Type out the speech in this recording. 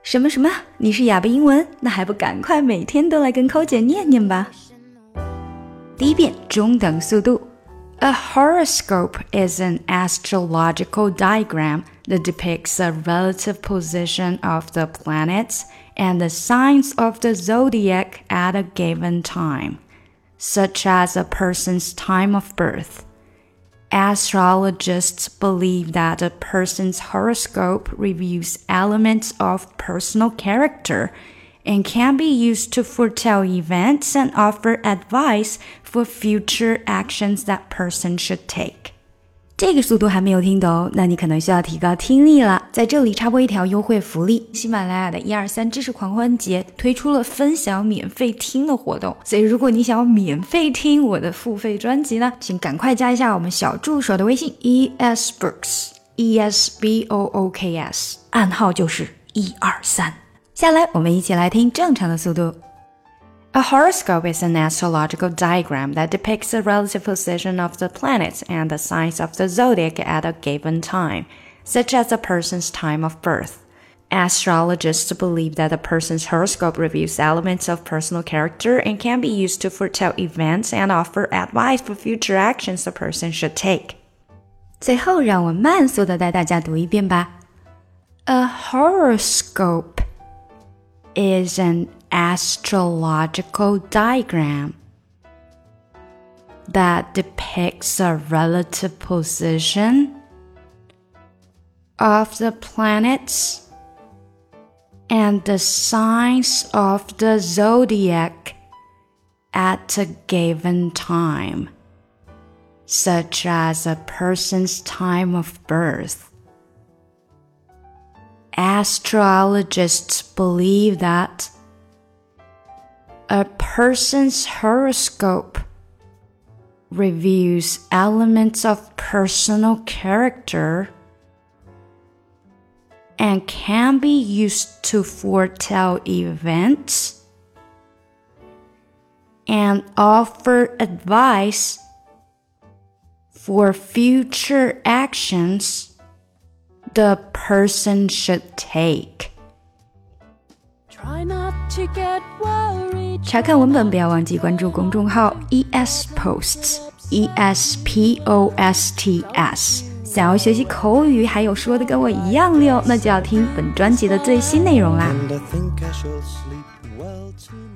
什么什么？你是哑巴英文？那还不赶快每天都来跟扣姐念念吧。第一遍中等速度。A horoscope is an astrological diagram that depicts the relative position of the planets and the signs of the zodiac at a given time, such as a person's time of birth. Astrologists believe that a person's horoscope reveals elements of personal character and can be used to foretell events and offer advice for future actions that person should take. 这个速度还没有听懂，那你可能需要提高听力了。在这里插播一条优惠福利，喜马拉雅的123知识狂欢节推出了分享免费听的活动，所以如果你想要免费听我的付费专辑呢，请赶快加一下我们小助手的微信 ESBooks ESBOOKS， 暗号就是123。下来我们一起来听正常的速度。A horoscope is an astrological diagram that depicts the relative position of the planets and the signs of the zodiac at a given time, such as a person's time of birth. Astrologists believe that a person's horoscope reveals elements of personal character and can be used to foretell events and offer advice for future actions the person should take. 最后让我慢速地带大家读一遍吧。A horoscope is an astrological diagram that depicts the relative position of the planets and the signs of the zodiac at a given time, such as a person's time of birth. Astrologists believe that a person's horoscope reveals elements of personal character and can be used to foretell events and offer advice for future actions the person should take. 查看文本不要忘记关注公众号 ESPosts ESPOSTS。 想要学习口语还有说的跟我一样溜，那就要听本专辑的最新内容啦。